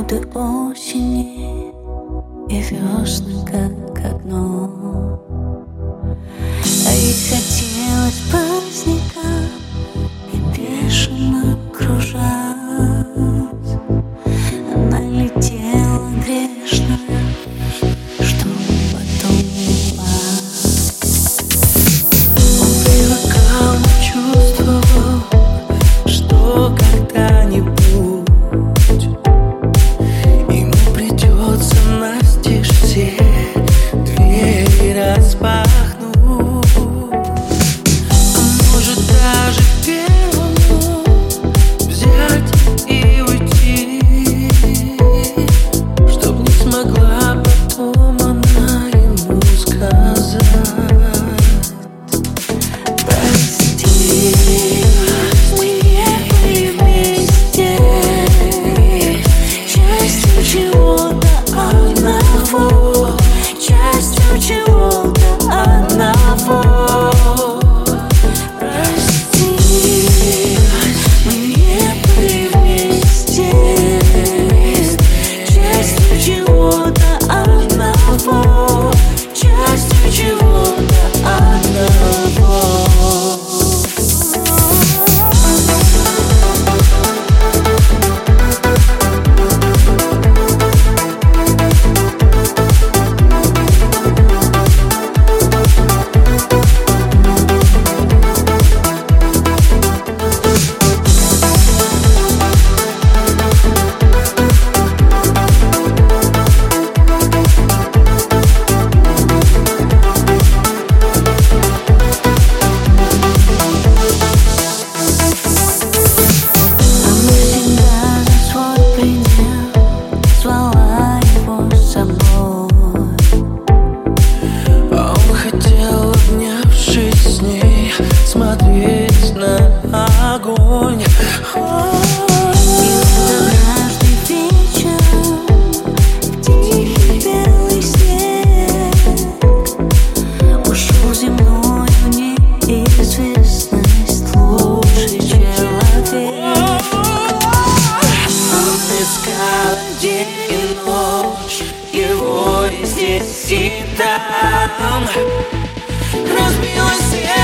минуты осени и весны как одно. А ей хотелось праздника и бешено кружась. Она летела грешная, что потом упасть. Он привыкал, чувствовал, что когда-нибудь ему придется настежь все двери распахнуть. А может даже первому взять и уйти, чтоб не смогла потом она ему сказать: прости, мы не были вместе, частью чего-то одного, частью чего-то одного. Прости, мы не были вместе, частью чего-то одного, частью чего-то одного. Смотреть на огонь. И каждый вечер в тихий белый снег ушел земною неизвестность лучший человек. Он искал день и ночь, его и здесь, и там. Разбилось сердце.